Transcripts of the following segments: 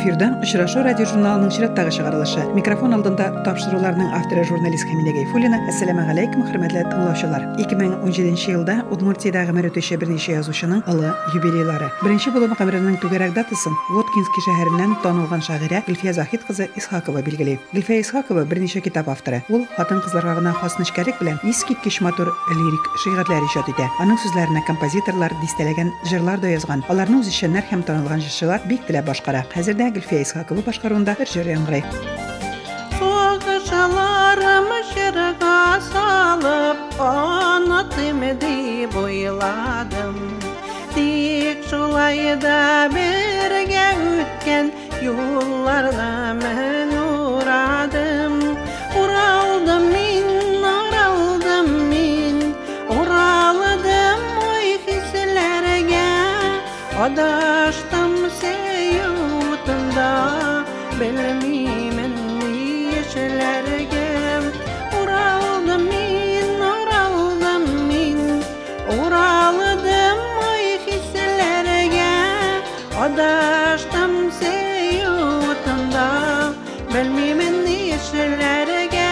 Эфирда «Очрашу» радио журналының чираттагы чыгарылышы. Микрофон алдында тапшыруларның авторы журналист Хәмидә Гайфуллина. Ассаламу алейкум, хөрмәтле тыңлаучылар. 2017 елда Удмуртиядагы мөрөтөче берничә язучының олы юбилейлары. Беренче булып гомеренең түгәрәк датасын Воткинский шәһәреннән танылган шагыйрә Гөлфия Захит кызы Исхакова билгели. Гөлфия Исхакова берничә китап авторы. Ул хатын-кызларга гына хас нечкәлек белән искиткеч матур лирик шигырьләр иҗат итә. Аның сүзләренә композиторлар дистәләгән җырлар да язган. Аларның үзешчәннәр һәм танылган җырчылар бик теләп башкара. Хәзердә Гөлфия Исхакова башкаруында бер җыр яңгырый. Soğuşalarımı şırğa salıp anlatım deyip oyladım. Dik şulayda birge ütken yollarla men uğradım. Uraldım min, uraldım oy hislerge. Adaştım seyutunda bilmimen yeşillerge. Uraldım min, uraldım oy hislerge. Adaştım seyutunda bilmimen yeşillerge.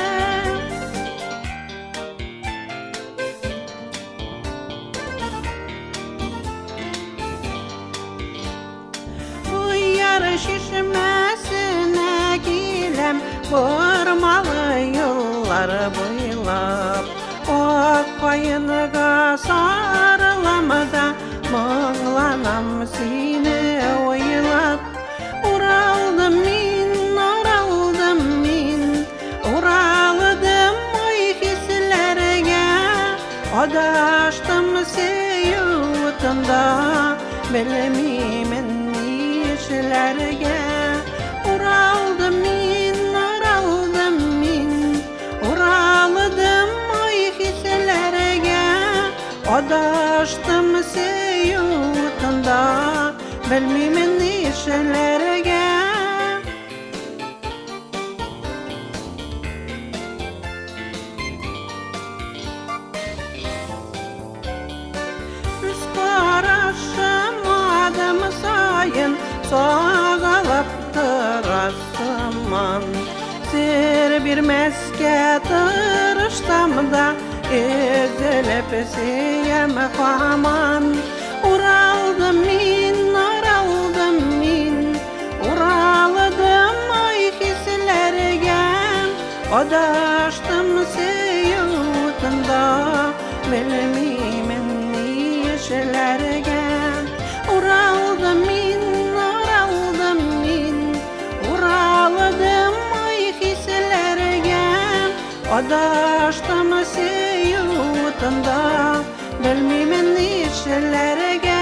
Şişmesine gilem vurmalı yıllar boylap. Ok payınıga sarılamada mağlanam seni oylap. Uraldım min, uraldım oy hislerge. Adaştım seyutunda bilmimen yeşillerge. Uraldım min, uraldım oy hislerge. Adaştım seyutunda bilmimen yeşillerge. Üz karışım adım sayın sağalıp tırasıman. Sir bir meske tırıştam da ezilip siyem kaman. Uraldım min, uraldım oy hislerge. Adaştım seyutunda bilmimen yeşillerge. Uraldım min, uraldım oy hislerge. Adaştım seyutunda bilmimen yeşillerge.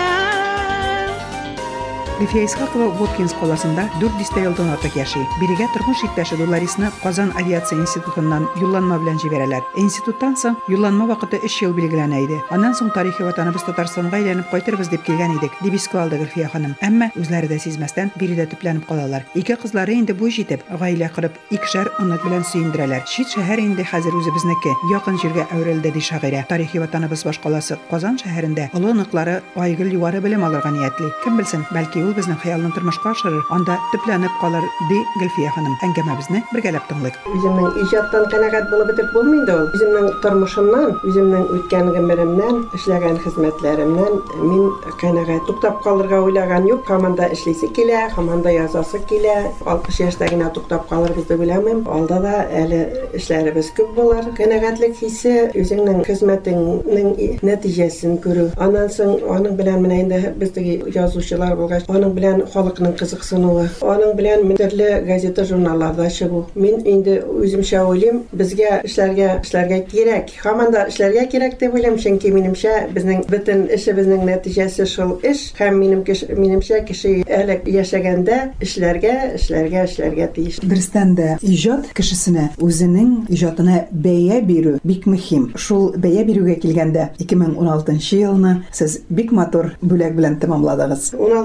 Гөлфия Исхакова Воткинск қаласында 400 елдан артык яши. Бирегә тормыш иптәше Ларисны Казан авиация институтыннан юлланма белән җибәрәләр. Институттан соң юлланма вакыты 3 ел билгеләнә иде. Аннан соң тарихи ватаныбыз Татарстанга әйләнеп кайтырбыз дип килгән идек, дип искә алды Гөлфия ханым. Әмма үзләре дә сизмәстән биредә төпләнеп калалар. Ике кызлары инде буй җитеп, гаилә корып, икешәр онык белән сөендерәләр. Чит шәһәр инде хәзер үзебезнеке, якын җиргә әверелде ди шагыйрә. Тарихи ватаныбыз башкаласы Казан шәһәрендә олы оныклары Айгөл югары белем алырга ниятли. Кем белсен, бәлки ул безнең хыялны тормышка ашырыр, анда төпләнеп калыр, ди Гөлфия ханым. Әңгәмәбезне бергәләп тыңлыйк. Үземнең иҗаттан канәгать булып бетеп булмый ул. Үземнең тормышымнан, үземнең үткән гомеремнән, эшләгән хезмәтләремнән мин канәгать туктап калырга уйлаган юк. Команда эшлисе килә, команда язасы килә. 60 яшьтә генә туктап калырбыз дип уйламыйм. Алда да әле эшләребез күп булыр. Канәгатьлек хисе үзеңнең хезмәтеңнең нәтиҗәсен күрү. Аннан соң аның белән менә инде бездәге язучылар булгач, аның белән халыкның кызыксынуы, аның белән төрле газета журналларда чыгу. Мин инде үземчә уйлыйм, безгә эшләргә кирәк. Һаман да эшләргә кирәк дип уйлыйм, чөнки минемчә безнең бөтен эшебезнең нәтиҗәсе шул эш. Һәм минемчә кеше әле яшәгәндә эшләргә тиеш. Дөрестән дә иҗат кешесенә үзенең иҗатына бәя бирү бик мөһим. Шул бәя бирүгә килгәндә 2016 елны сез бик матур бүләк белән тәмамладыгыз. 16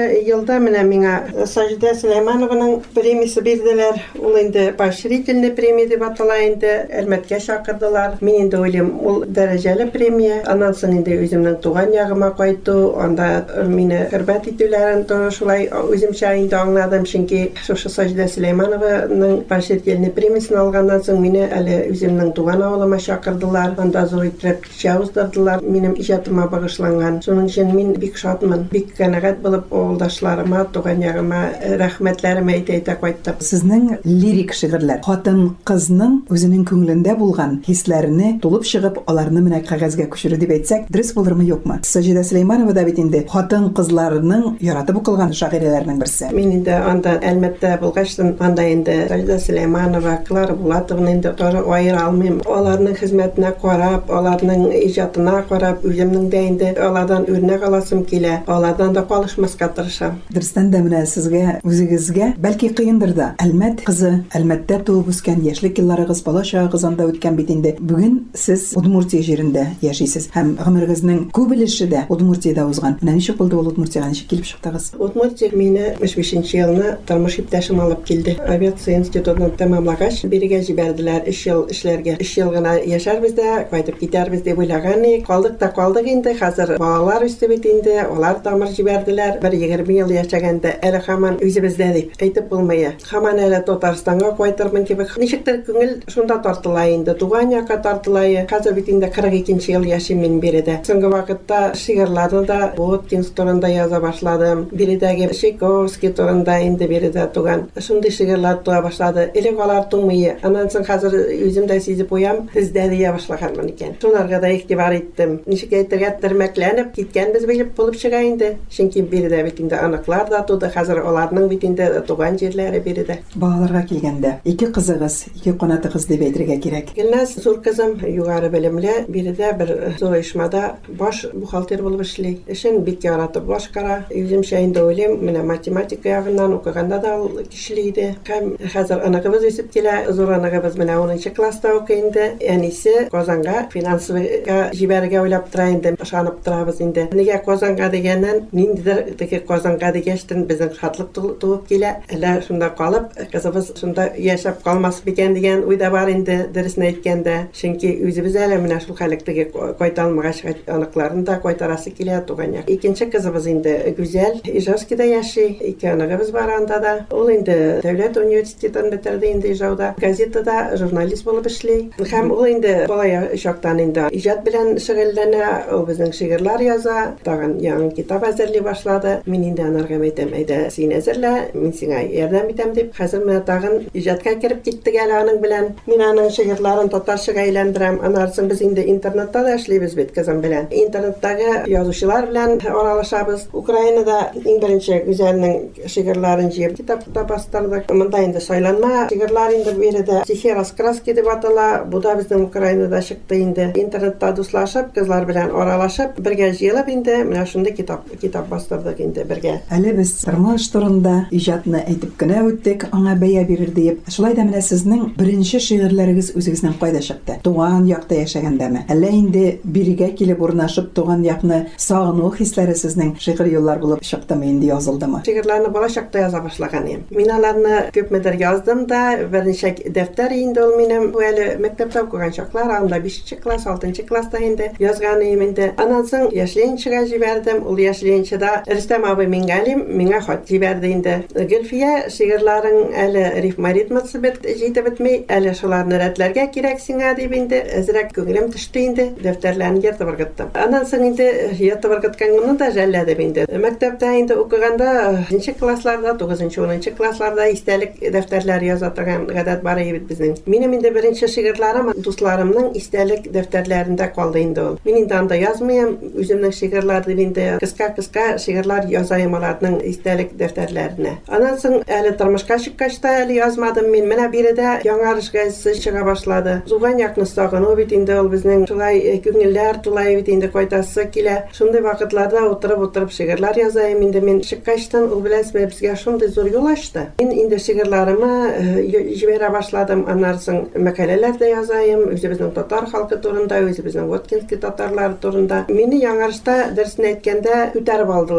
елда менә миңа Сажида Сулейманованың премиясе бирделәр. Ул инде поощрительный премия дип атала инде. Әлмәткә чакырдылар. Мин инде уйлыйм, ул дәрәҗәле премия. Аннан соң инде үземнең туган ягыма кайту, анда мине хөрмәт итүләрен шулай үземчә инде аңладым, чөнки шушы Сажида Сулейманованың поощрительный премиясын алганнан соң мине әле үземнең туган авылыма чакырдылар. Анда зур итеп кичә уздырдылар минем иҗатыма багышланган. Шуның өчен мин бик шатмын, бик канәгать булып авылдашларыма, туган ягыма рәхмәтләремне әйтә кайттым. Сезнең лирик шигырьләр хатын-кызның үзенең күңелендә булган хисләрне тулып чыгып, аларны менә кагазга күчерү дип әйтсәк, дөрес булырмы, юкмы? Сажида Сулейманова да бит инде хатын-кызларның яратып укылган шагыйрәләрнең берсе. Мин инде анда Әлмәттә булгач, анда инде Сажида Сулейманова, Клара Булатованы инде тоже аера алмыйм. Аларның хезмәтенә карап, аларның иҗатына карап, үземнең дә инде алардан үрнәк аласым килә. Алардан да калышмаска тырышам. Дөрестән дә менә сезгә, үзегезгә бәлки кыендыр да. Әлмәт кызы, Әлмәттә туып үскән, яшьлек елларыгыз, бала чагыгыз анда үткән бит инде. Бүген сез Удмуртия җирендә яшисез һәм гомерегезнең күп өлеше дә Удмуртиядә узган. Менә ничек булды ул Удмуртиягә, ничек килеп чыктыгыз? Удмуртия мине 65 елны тормыш иптәшем алып килде. Авиация институтын тәмамлагач, бирегә җибәрделәр 3 ел эшләргә. 3 ел гына яшәрбез дә, кайтып китәрбез дип уйлаган идек. Калдык инде. Хәзер балалар үсте бит инде. Алар тамыр җибәрделәр. 20 ел яшәгәндә әле һаман үзебездә дип әйтеп булмый. Һаман әле Татарстанга кайтырмын кебек. Ничектер күңел шунда тартыла инде. Туган якка тартыла. Хәзер бит инде 42 ел яшим мин биредә. Соңгы вакытта шигырьләрне да Воткинс турында яза башладым. Биредәге Чайковский турында инде биредә туган. Шундый шигырьләр туа башлады. Элек алар тумый. Аннан соң хәзер үзем дә сизеп уям, бездә дия башлаганмын икән. Шуларга да игътибар иттем. Ничек әйтергә термәкләнеп киткәнбез билеп булып чыга инде. Чөнки биредә бит инде аныклар да туды. Хәзер аларның бит инде туган җирләре биредә. Балаларга килгәндә, 2 кызыгыз, 2 канатыгыз дип әйтергә кирәк. Гөлназ зур кызым югары белемле, биредә бер зур оешмада баш бухгалтер булып эшли. Эшен бик яратып башкара. Үземчә инде уйлыйм, менә математика ягыннан укыганда да ул кишле иде. Һәм хәзер аныгыбыз үсеп килә. Зур аныгыбыз менә 10нчы класста укый инде. Әнисе Казанга финансовыйга җибәрергә уйлап тора инде. Ышанып торабыз инде. Нигә Казанга дигәннән, ниндидер теге Казанга дигәчтен безнең шатлык туып килә. Әллә шунда калып, кызыбыз шунда яшәп калмас бикән дигән уйда бар инде, дөресен әйткәндә. Чөнки үзебез әле менә шул хәлектәге кайта алмагач аныкларын да кайтарасы килә туган як. Икенче кызыбыз инде Гүзәл Ижевскида яши. 2 аныгыбыз бар анда да. Ул инде Дәүләт университетын бетерде инде Ижауда. Газетада журналист булып эшли. Һәм ул инде бала чактан инде иҗат белән шөгыльләнә. Ул безнең шигырьләр яза. Тагын яңа китап әзерли башлады. Мин инде анарга әйтәм, әйдә син әзерлә, мин сиңа ярдәм итәм дип. Хәзер менә тагын иҗатка кирип киттек әле аның белән. Мин аның шигырьләрен татарчага әйләндерәм. Аннан соң без инде интернетта да эшлибез бит кызым белән. Интернеттагы язучылар белән аралашабыз. Украинада иң беренче Гүзәлнең шигырьләрен җыеп китапта бастырдык. Монда инде сайланма шигырьләр инде биредә стихи раскраски дип атала. Бу да безнең Украинада чыкты инде. Интернетта дуслашып, кызлар белән аралашып, бергә җыелып инде менә шундый китап бастырдык инде бергә. Әле без тормыш турында иҗатны әйтеп кенә үттек, аңа бәя бирер дип. Шулай да менә сезнең беренче шигырьләрегез үзегезнән кайда чыкты? Туган якта яшәгәндәме? Әллә инде бирегә килеп урнашып туган якны сагыну хисләре сезнең шигырь юллар булып чыктымы, инде язылдымы? Шигырьләрне бала чакта яза башлаган идем. Мин аларны күпмедер яздым да, берничә дәфтәр инде ул минем әле мәктәптә укыган чаклар, анда 5нче класс, 6нчы класста инде язган идем инде. Аннан соң яшьленчегә җибәрдем. Ул яшьленчедә Рөстәм абый миңа хат җибәрде инде. Гөлфия, шигырьләрең әле рифмаритмасы җитеп бетми, әле шуларны рәтләргә кирәк сиңа дип инде әзрәк күңелем төште инде. Дәфтәрләрне ертып ыргыттым. Аннан соң инде ертып ыргытканны да жәлләдем инде. Мәктәптә инде укыганда 5нче классларда, 9нчы, 10нчы классларда истәлек дәфтәрләр яза торган гадәт бар иде безнең. Минем инде беренче шигырьләрем дусларымның истәлек дәфтәрләрендә калды инде ул. Мин инде анда язмыйм, үземнең шигырьләр дип инде кыска шигырьләр язайм аларның истәлек дәфтәрләренә. Аннан соң әле тормышка чыккач та әле язмадым мин. Менә биредә яңарыш газетасы чыга башлады. Туган якны сагыну бит инде ул безнең шулай күңелләр тулай бит инде кайтасы килә. Шундый вакытларда утырып шигырьләр язайм инде мин. Чыккачтан ул беләсезме безгә шундый зур юл ачты. Мин инде шигырьләремне җибәрә башладым. Аннан соң мәкаләләр дә язайм, үзебезнең татар халкы турында, үзебезнең Воткинский татарлары турында. Мине яңарышта дәресен әйткәндә күтәреп алдылар. Аннан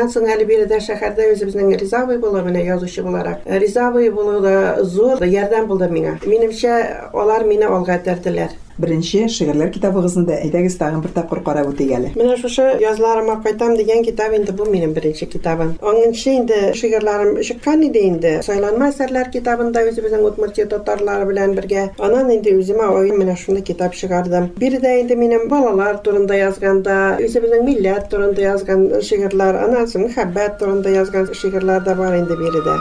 соң әле биредә шәһәрдә үзебезнең ризавый булу, менә язучы буларак. Ризавый булу да зур ярдәм булды миңа. Минемчә, алар мине алга тәрделәр. Беренче шигырьләр китабыгызны да әйдәгез тагын бер тапкыр карап үтик әле. Менә шушы язларыма кайтам дигән китап инде бу минем беренче китабым. Аңынчы инде шигырьләрем чыккан иде инде. Сайланма әсәрләр китабында үзебезнең Удмуртия татарлары белән бергә. Аннан инде үземә менә шуны китап чыгардым. Биредә инде минем балалар турында язганда, үзебезнең милләт турында язган шигырьләр, аннан соң мәхәббәт турында язган шигырьләр да бар инде биредә.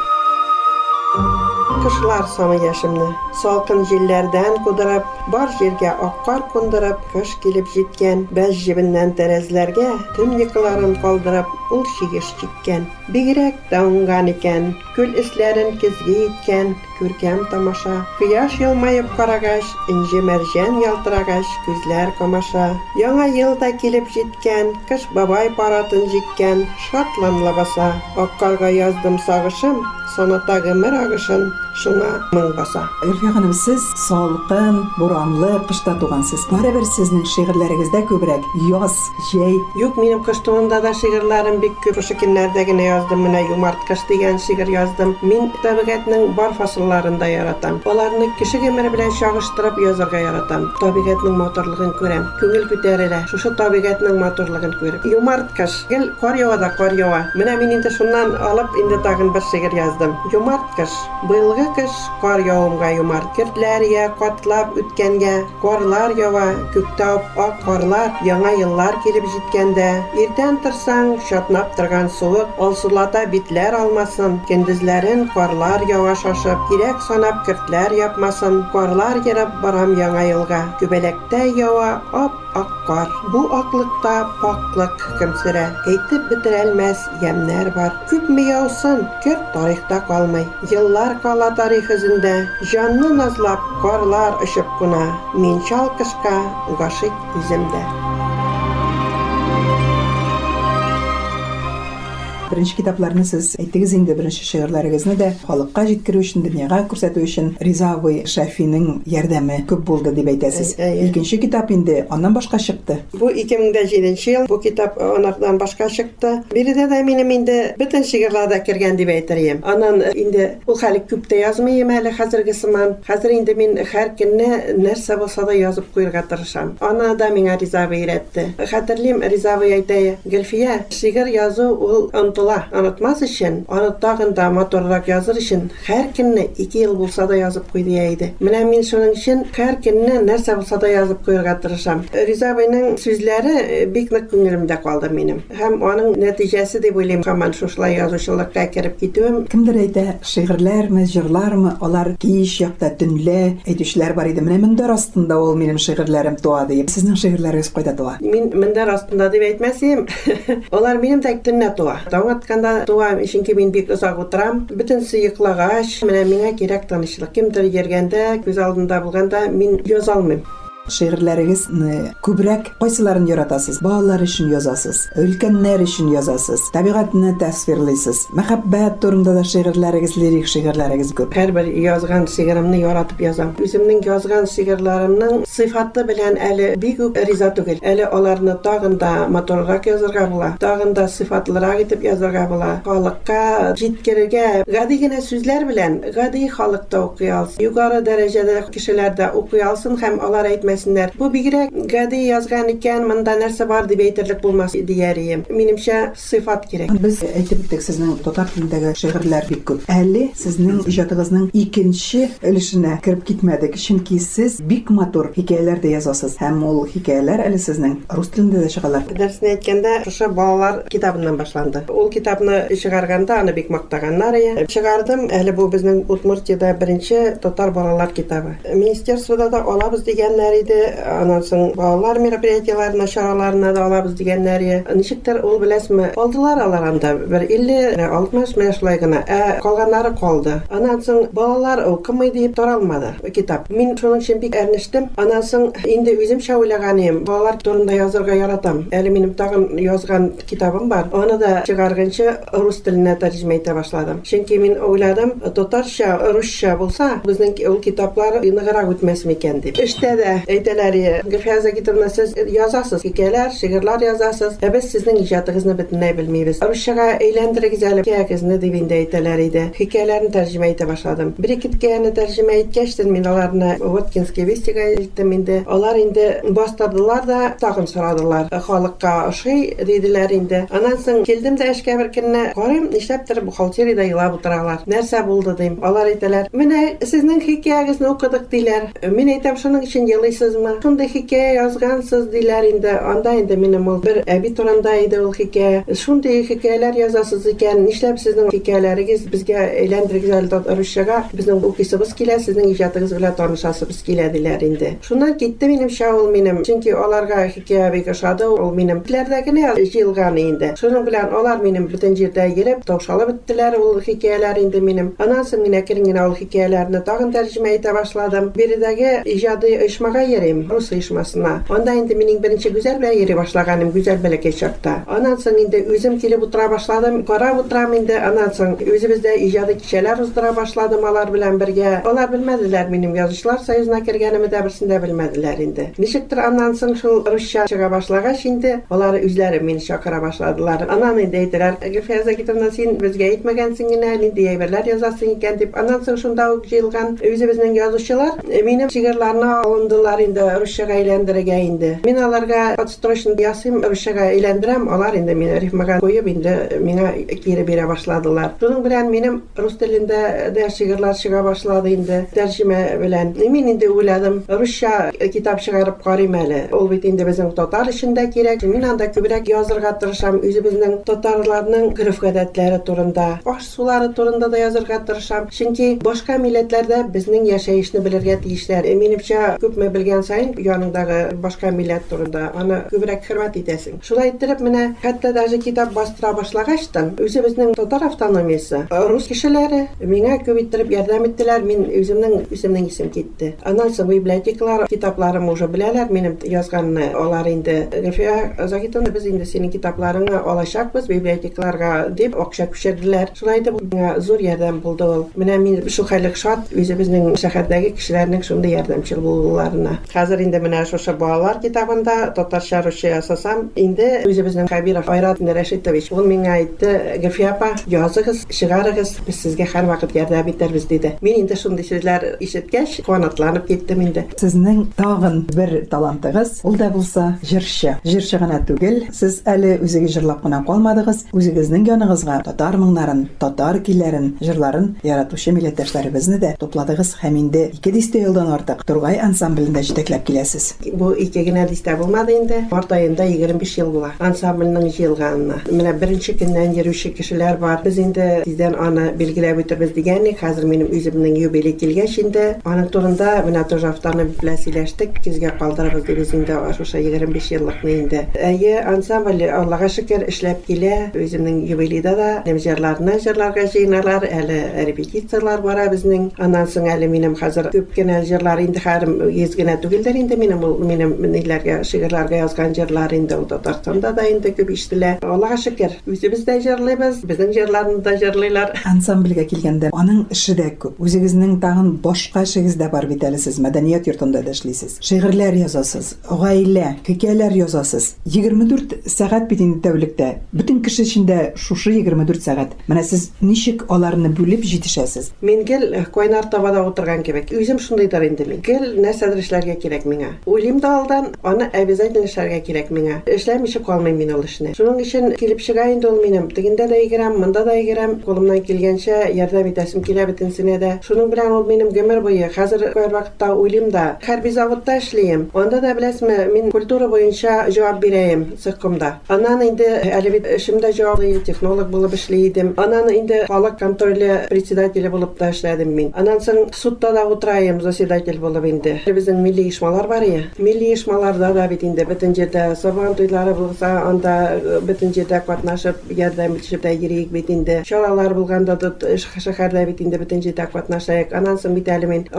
Кышлар саны яшемне, салкын җилләрдән кудырып, бар җиргә аккар кундырып, кыш килеп җиткән, бәз җибеннән тәрәзләргә, төн йокыларын калдырып, ул чигеш җиткән. Бигрәк тә уңган икән, күл эсләрен көзгә иткән, күркәм тамаша. Кояш елмаеп карагач, инҗе мәрҗән ялтырагач, күзләр камаша. Яңа ел да килеп җиткән, кыш бабай паратын җиккән, шатланла баса. Аккарга яздым сагышым, саната гомер агышын, шуңа моң баса. Эльфия ханым, сез салкын, буранлы кышта тугансыз. Барыбер сезнең шигырьләрегездә күбрәк яз, җәй. Юк, минем кыш турында да шигырьләрем бик күп. Ошо көннәрдә генә яздым, менә Юмарт кыш дигән шигырь яздым. Мин табигатьнең бар фасылларын да яратам. Аларны кеше гомере белән чагыштырып язарга яратам. Табигатьнең матурлыгын күрәм. Күңел күтәрелә. Шушы табигатьнең матурлыгын күреп. Юмарт кыш, гел кар ява да кар ява. Менә мин инде шуннан алып инде тагын бер шигырь яздым. Юмарт кыш, быелгы кыш кар явымга юмарт. Кертләр я катлап үткәнгә, карлар ява, күктә ак карлар, яңа еллар килеп җиткәндә. Иртән торсаң, шатнап торган суык, алсулата битләр алмасын, көндезләрен карлар ява шашып, кирәк санап кертләр япмасын, карлар йөреп барам яңа елга. Күбәләктә ява ап-ак кар. Бу аклыкта паклык хөкем сөрә. Әйтеп бетерелмәс ямнәр бар. Күпме яусын, керт тарихта калмый. Еллар кала тарих эзендә, җанны назлап карлар очып куна. Мин чал кышка гашык үземдә. Беренче китапларны сез әйтегез инде, беренче шигырьләрегезне дә халыкка җиткерү өчен, дөньяга күрсәтү өчен Ризавый Шафиның ярдәме күп булды дип әйтәсез. Икенче китап инде аннан башка чыкты. Бу 2007 ел, бу китап анардан башка чыкты. Биредә дә минем инде бөтен шигырьләрдә кергән дип әйтәрем. Аннан инде ул хәле күп тә язмыйм әле хәзерге сыман. Хәзер инде мин һәр көнне нәрсә булса да язып куярга тырышам. Аны да миңа Ризавый өйрәтте. Хәтерлим, Ризавый әйтә, Гөлфия, шигырь язу ул Онытмас өчен, аны тагын да матуррак языр өчен һәр көнне 2 ел булса да язып куйды иде. Менә мин шуның өчен һәр көнне нәрсә булса да язып куярга тырышам. Ризавыйның сүзләре бик нык күңелемдә калды минем. Һәм аның нәтиҗәсе дип уйлыйм, һаман шушылай язучылыкка кереп китүем. Кемдер әйтә, шигырьләрме, җырлармы, алар кич якта төнлә әйтүчләр бар иде. Менә мендәр астында ул минем шигырьләрем туа дип. Сезнең шигырьләрегез кайда туа? Мин мендәр астында дип әйтмәсем, алар минем тәк төнлә туа. Атканда туам, чөнки мин бик озак утырам. Бөтен сыйыклагач, менә миңа кирәк тынычлык. Кемдер йөргәндә, күз алдында булганда мин яза алмыйм. Шигырьләрегезне күбрәк кайсыларын яратасыз? Балалар өчен язасыз, өлкәннәр өчен язасыз, табигатьне тасвирлыйсыз. Мәхәббәт турында да шигырьләрегез, лирик шигырьләрегез күп. Һәрбер язган шигыремне яратып язам. Үземнең язган шигырьләремнең сыйфаты белән әле бик үк риза түгел. Әле аларны тагын да матуррак язарга була, тагын да сыйфатлырак итеп язарга була. Халыкка җиткерергә гади генә сүзләр белән, гади халыкта укый алсын. Югары дәрәҗәдә кешеләр дә укый алсын һәм алар әйтмәсен. Бу бигрәк гади язган икән, монда нәрсә бар дип әйтерлек булмас диярем. Минемчә сыйфат кирәк. Без әйтеп үттек, сезнең татар телендәге шигырьләр бик күп. Әле сезнең иҗатыгызның икенче өлешенә кирип китмәдек, чөнки сез бик матур хикәяләр дә язасыз. Һәм ул хикәяләр әле сезнең рус телендә дә чыгалар. Дәресне әйткәндә, шушы балалар китабыннан башланды. Ул китапны чыгарганда аны бик мактаганнар иде. Чыгардым, әле бу безнең Удмуртиядә беренче татар балалар китабы. Министерствода да алабыз дигәннәр иде. Аннан соң балалар мероприятиеләренә, чараларына да алабыз дигәннәр. Ничектер ул беләсме? Алдылар алар анда бер 50-60 менә шулай гына. Калганнары калды. Аннан соң балалар укымый дип таралмады китап. Мин шуның өчен бик әрнештем. Аннан соң инде үземчә уйлаганым, балалар турында язарга яратам. Әле минем тагын язган китабым бар. Аны да чыгарганчы рус теленә тәрҗемә итә башладым. Чөнки мин уйладым, татарча, русча булса, безнең ул китаплар ныграк үтмәс микән дип. Эштә дә Әйтәләр, Гөлфия Загитовна, сез язасыз, хикәяләр, шигырьләр язасыз. Без сезнең иҗатыгызны бөтенләй белмибез. Русчага әйләндерегез әле хикәягезне дип инде әйтәләр иде. Хикәяләрне тәрҗемә итә башладым. Бер-ике хикәяне тәрҗемә иткәч, мин аларны Воткинский вестига илттем инде. Алар инде бастырдылар да, тагын сорадылар. Халыкка ошый диделәр инде. Аннан соң килдем дә эшкә бер көнне, карыйм, нишләптер бухгалтериядә елап утыралар. Нәрсә булды дим. Алар әйтәләр, менә сезнең хикәягезне укыдык диләр. Мин әйтәм, шуның өчен елыйсызмы? Шундый хикәя язгансыз диләр инде. Анда инде минем ул бер әби турында иде ул хикәя. Шундый хикәяләр язасыз икән, нишләп сезнең хикәяләрегез безгә әйләндерегез әле русчага? Безнең укыйсыбыз килә, сезнең иҗатыгыз белән танышасыбыз килә диләр инде. Шуннан китте минемчә ул минем, чөнки аларга хикәя бик ошады, ул минем телләрдә генә җыелган инде. Шуның белән алар минем бөтен җирдә йөреп, таушалып беттеләр ул хикәяләр инде минем. Аннан соң мин әкрен генә ул хикәяләрне тагын тәрҗемә итә башладым. Биредәге иҗади оешмага йөрим, рус оешмасына. Анда инде минем беренче Гүзәл белән йөри башлаганым, Гүзәл бәләкәй чакта. Аннан соң инде үзем килеп утыра башладым, карап утырам инде. Аннан соң үзебездә иҗади кичәләр уздыра башладым алар белән бергә. Алар белмәделәр минем язучылар союзына кергәнемне дә берсендә белмәделәр инде. Ничектер аннан соң шул русча чыга башлагач инде, алар үзләре мине чакыра башладылар. Аннан инде әйттеләр, Гөлфия Загитовна, син безгә әйтмәгәнсең генә, нинди әйберләр язасың икән дип. Аннан соң шунда ук җыелган үзебезнең язучылар минем шигырьләрне алындылар инде русчага әйләндерергә инде. Мин аларга подстрочно ясыйм, русчага әйләндерәм, алар инде мине рифмага куеп инде миңа кире бирә башладылар. Шуның белән минем рус телендә дә шигырьләр чыга башлады инде тәрҗемә белән. Мин инде уйладым, русча китап чыгарып карыйм әле. Ул бит инде безнең татар эшендә кирәк. Мин анда күбрәк язырга тырышам, үзебезнең татарларның гөреф-гадәтләре турында, аш-сулары турында да язырга тырышам. Чөнки башка милләтләрдә безнең яшәешне белергә тиешләр. Минемчә, күпме белгән саен яныңдагы башка милләт турында аны күбрәк хөрмәт итәсең. Шулай итеп, менә хәтта даже китап бастыра башлагачтан, үзебезнең татар автономиясе, рус кешеләре миңа күп иттереп ярдәм иттеләр. Мин үземнең исем китте. Аннан соң библиотекалар китапларым уже беләләр минем язганны. Алар инде, Гөлфия Загитовна, без инде синең китапларыңны алачакбыз библиотекаларга дип акча күчерделәр. Шулай итеп, миңа зур ярдәм булды ул. Менә мин шул хәллек шат үзебезнең шәһәрдәге кешеләрнең шундый ярдәмчыл булуларына. Хәзер инде менә шушы балалар китабында татарча русча ясасам, инде үзебезнең Хәбиров Айрат Рәшитович, ул миңа әйтте, Гөлфия апа, языгыз, чыгарыгыз, без сезгә һәрвакыт ярдәм итәрбез диде. Мин инде шундый сүзләр ишеткәч, куанатланып киттем инде. Сезнең тагын бер талантыгыз, ул да булса җырчы. Җырчы гына түгел, сез әле үзегез җырлап кына калмадыгыз, үзегезнең яныгызга татар моңнарын, татар көйләрен, җырларын яратучы милләттәшләребезне дә топладыгыз һәм инде 200 елдан артык Тургай ансамблендә җитәкләп киләсез. Бу 2 генә дистә булмады инде. Март аенда 25 ел була ансамбльнең җыелганына. Менә беренче көннән йөрүче кешеләр бар. Без инде тиздән аны билгеләп үтербез дигәнник. Хәзер минем үземнең юбилей килгәч инде, аның турында менә тоже автономия белән сөйләштек, көзгә калдырабыз дибез инде шушы 25 еллыкны инде. Әйе, ансамбль Аллага шөкер эшләп килә. Үземнең юбилейда да җырларны җырларга җыйналар, әле репетициялар бара безнең. Аннан соң әле минем хәзер күп кенә җырлар инде һәрм йөз генә түгелдер инде минем ниләргә шигырьләргә язган җырлар инде ул Татарстанда да инде күп ишетелә. Аллага шөкер, үзебез дә җырлыйбыз, безнең җырларны да җырлыйлар. Ансамбльгә килгәндә аның эше дә күп. Үзегезнең тагын башка эшегез дә бар бит әле, сез мәдәният йортында да эшлисез. Шигырьләр язасыз, гаилә, хикәяләр язасыз. 24 сәгать бит инде тәүлектә. Бөтен кеше өчен шушы 24 сәгать. Менә сез ничек аларны бүлеп җитешәсез? Мин гел койнар табада утырган кебек. Үзем шундыйдыр инде мин. Гел нәрсәдер эшләргә кирәк миңа. Уйлыйм да алдан, аны обязательно эшләргә кирәк миңа. Эшләмичә калмыйм мин ул эшне. Шуның өчен килеп чыга инде ул минем. Тегендә дә егерәм, монда да егерәм. Кулымнан килгәнчә ярдәм итәсем килә бөтенсенә дә. Шуның белән ул минем гомер буе. Хәзер кай вакытта уйлыйм да, хәрби заводта эшлим. Анда да беләсезме, мин культура буенча җавап бирәм цехкомда. Аннан инде әле бит эшемдә җаваплы технолог булып эшлидем. Аннан инде халык контроле председателе булып та эшләдем мин. Аннан соң судта да утырайым, заседатель булып инде. Безнең милли оешмалар бар я. Милли оешмаларда да бит инде бөтен җирдә сабан туйлары булса, анда бөтен җирдә катнашып, ярдәм итеп тә йөрик бит инде. Чаралар булганда да шәһәрдә бит инде бөтен җирдә катнашайык. Аннан соң бит әле мин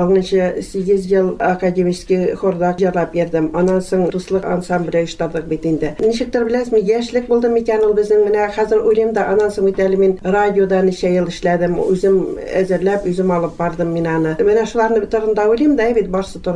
8 ел академический хорда җырлап йөрдем. Аннан соң дуслык ансамбле оештырдык бит инде. Ничектер беләсезме, яшьлек булды микән ул безнең. Менә хәзер уйлыйм да, аннан соң бит әле мин радиода ничә ел эшләдем. Үзем әзерләп, үзем алып бардым мин аны. Менә шуларны турында уйлыйм да, бит барсы турында да.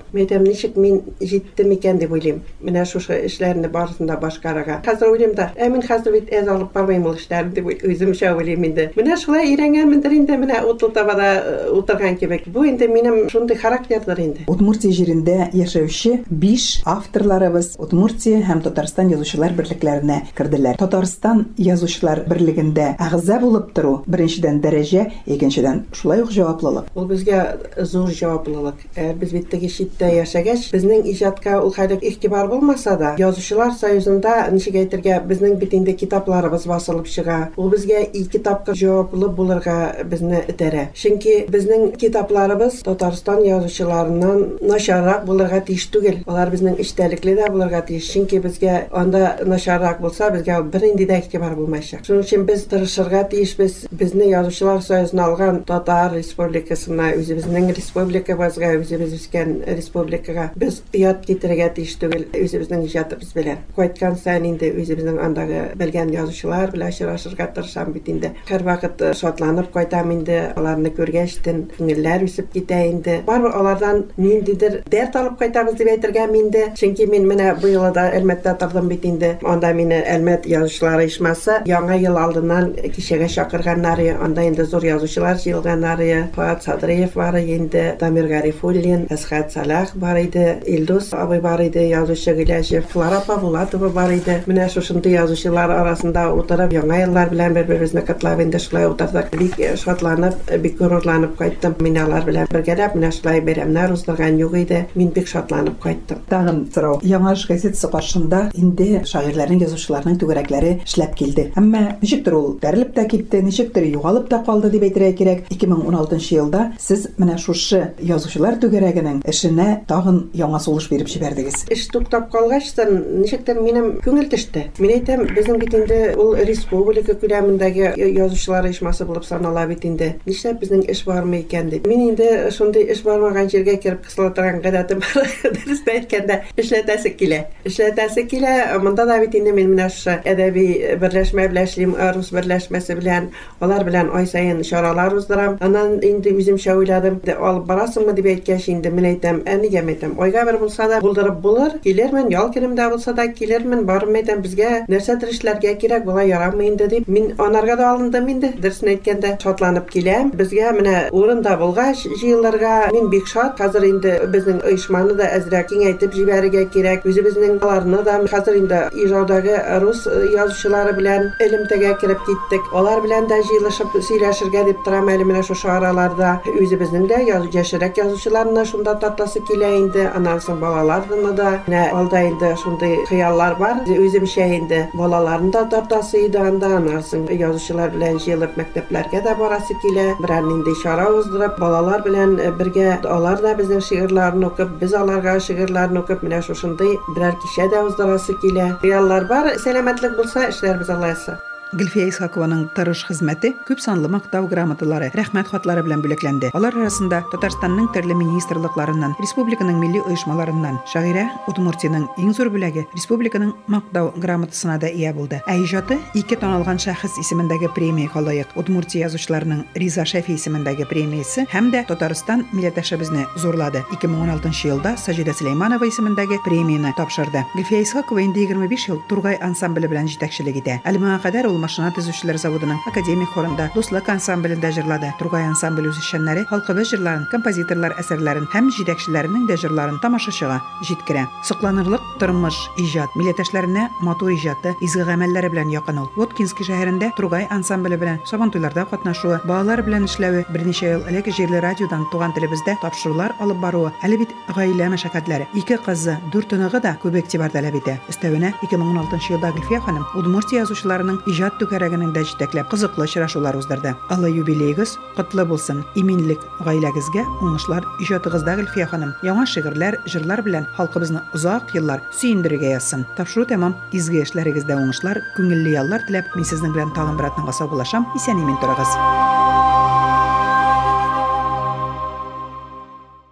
Мен әйтәм, ничек мин җиттем икән дип уйлыйм. Менә шушы эшләрне барысында башкарырга. Хәзер уйлыйм да, мин хәзер бит әз алып бармыйм ул эшләрне дип үземчә уйлыйм инде. Менә шулай өйрәнгәнмендер инде, менә Утыл-Табада утырган кебек. Бу инде минем шундый характердыр инде. Удмуртия җирендә яшәүче 5 авторларыбыз Удмуртия һәм Татарстан язучылар берлекләренә керделәр. Татарстан язучылар берлегендә әгъза булып тору беренчедән дәрәҗә, икенчедән шулай ук җаваплылык. Ул безгә зур җаваплылык. Без бит теге читтә яшәгәч, безнең иҗатка ул хәйлек игътибар булмаса да, Язучылар союзында ничек әйтергә, безнең бит инде китапларыбыз басылып чыга. Ул безгә и китапка җаваплы булырга безне этәрә. Чөнки безнең китапларыбыз Татарстан язучыларыннан начаррак булырга тиеш түгел. Алар безнең эчтәлекле дә булырга тиеш. Чөнки безгә анда начаррак булса, безгә бернинди дә игътибар булмаячак. Шуның өчен без тырышырга тиешбез. Безне Язучылар союзына алган Татар республикасына, үзебезнең республикабызга, үзебез үскән республикага без ят китерергә тиеш түгел үзебезнең иҗатыбыз белән. Кайткан саен инде үзебезнең андагы белгән язучылар белән очрашырга тырышам бит инде. Һәрвакыт шатланып кайтам инде, аларны күргәчтен күңелләр үсеп китә инде. Барыбер алардан ниндидер дәрт алып кайтабыз дип әйтергә инде. Чөнки мин менә бу елда Әлмәттә тордым бит инде. Анда мине Әлмәт язучылар оешмасы яңа ел алдыннан кичәгә чакырганнары, анда инде зур язучылар җыелганнары, Фуат Садриев бар инде, Дамир Гарифуллин, Әсхәт Салах бар иде, Илдус абый бар иде, язучы Гыляҗев, Флара Павлатова бар иде. Менә шушындай язучылар арасында утырып, яңа еллар белән бер-беребезне котлап инде шулай утырдык. Бик шатланып, бик горурланып кайттым. Мин алар белән бергәләп менә шулай бәйрәмнәр уздырган юк иде. Мин бик шатланып кайттым. Тагын сорау. Яңа эш газетасы каршында инде шагыйрьләрнең, язучыларның түгәрәкләре эшләп килде. Әмма ничектер ул бәрелеп тә китте, ничектер югалып та калды дип әйтергә кирәк. 2016 елда сез менә шушы язучылар түгәрәгенең эшенә тагын яңа сулыш биреп җибәрдегез. Эш туктап калгач, ничектер минем күңел төште. Мин әйтәм, безнең бит инде ул республика күләмендәге язучылар оешмасы булып санала бит инде. Нишләп безнең эш бармы икән дип. Мин инде шундый эш бармаган җиргә кирип кысыла торган гадәтем бар. Дөрестә әйткәндә, эшләтәсе килә. Эшләтәсе килә. Монда да бит инде мин менә шушы әдәби берләшмә белән эшлим, рус берләшмәсе белән, алар белән ай саен чаралар уздырам. Аннан инде үземчә уйладым, алып барасыңмы дип әйткәч инде мин әйтәм, нигә әйтәм, айга бер булса да булдырып булыр, килермен, ял көнемдә булса да килермен, барып әйтәм, безгә нәрсәдер эшләргә кирәк, була ярамый инде дип. Мин анарга да алындым инде, дөресен әйткәндә, шатланып киләм. Безгә менә урында булгач җыелырга мин бик шат. Хәзер инде безнең оешманы да әзрәк киңәйтеп җибәрергә кирәк. Үзебезнең аларны да хәзер инде Ижаудагы рус язучылары белән элемтәгә кирип киттек. Алар белән дә җыелышып сөйләшергә дип торам әле менә шушы араларда. Үзебезнең дә яшәрәк язучыларны шунда тартасы килә инде. Аннан соң балаларны да менә алда инде шундый хыяллар бар. Үземчә инде балаларны да тартасы иде анда. Аннан соң язучылар белән җыелып мәктәпләргә дә барасы килә. Берәр нинди чара уздырып, балалар белән бергә алар да безнең шигырьләрне укып, без аларга шигырьләрне укып, менә шушындый берәр кичә дә уздырасы килә. Хыяллар бар. Сәламәтлек булса, эшләрбез Аллаһы. Гөлфия Исхакованың тырыш хезмәте күп санлы мактау грамоталары, рәхмәт хатлары белән бүләкләнде. Алар арасында Татарстанның төрле министрлыкларыннан, республиканың милли оешмаларыннан, шагыйрә Удмуртиянең иң зур бүләге республиканың мактау грамотасына да ия булды. Иҗаты ике танылган шәхес исемендәге премия халык, Удмуртия язучыларының Риза Шәфи исемендәге премиясе һәм дә Татарстан милләттәшебезне зурлады. 2016 елда Саҗидә Сөләйманова исемендәге премияны тапшырды. Гөлфия Исхакова инде 25 ел Тургай ансамбле белән җитәкчелек итә. Әлмәгә кадәр ул машина төзүчеләр заводының академик хорында дуслык ансамблендә җырлады. Тургай ансамбль үзешчәннәре халкыбыз җырларын, композиторлар әсәрләрен һәм җитәкчеләренең дә җырларын тамашачыга җиткерә. Сокланырлык тормыш, иҗат, милләттәшләренә матур иҗаты, изге гамәлләре белән якын ул. Воткинский шәһәрендә Тургай ансамбле белән сабантуйларда катнашуы, балалар белән эшләве, берничә ел элек җирле радиодан туган телебездә тапшырулар алып баруы, әле бит гаилә мәшәкатьләре, 2 кызы, 4 оныгы да күп игътибар таләп итә. Өстәвенә 2016 елда Гөлфия ханым Удмуртия язучыларының иҗат түгәрәгенең дә җитәкләп кызыклы очрашулар уздырды. Алла юбилейгыз котлы булсын. Иминлек гаиләгезгә, уңышлар иҗатыгызда Гөлфия ханым. Яңа шигырьләр, җырлар белән халкыбызны озак еллар сөендерергә язсын. Тапшыру тәмам. Изге эшләрегездә уңышлар, күңелле яллар теләп, мин сезнең белән тагын бер атнага сау булашам. Исән-имин торыгыз.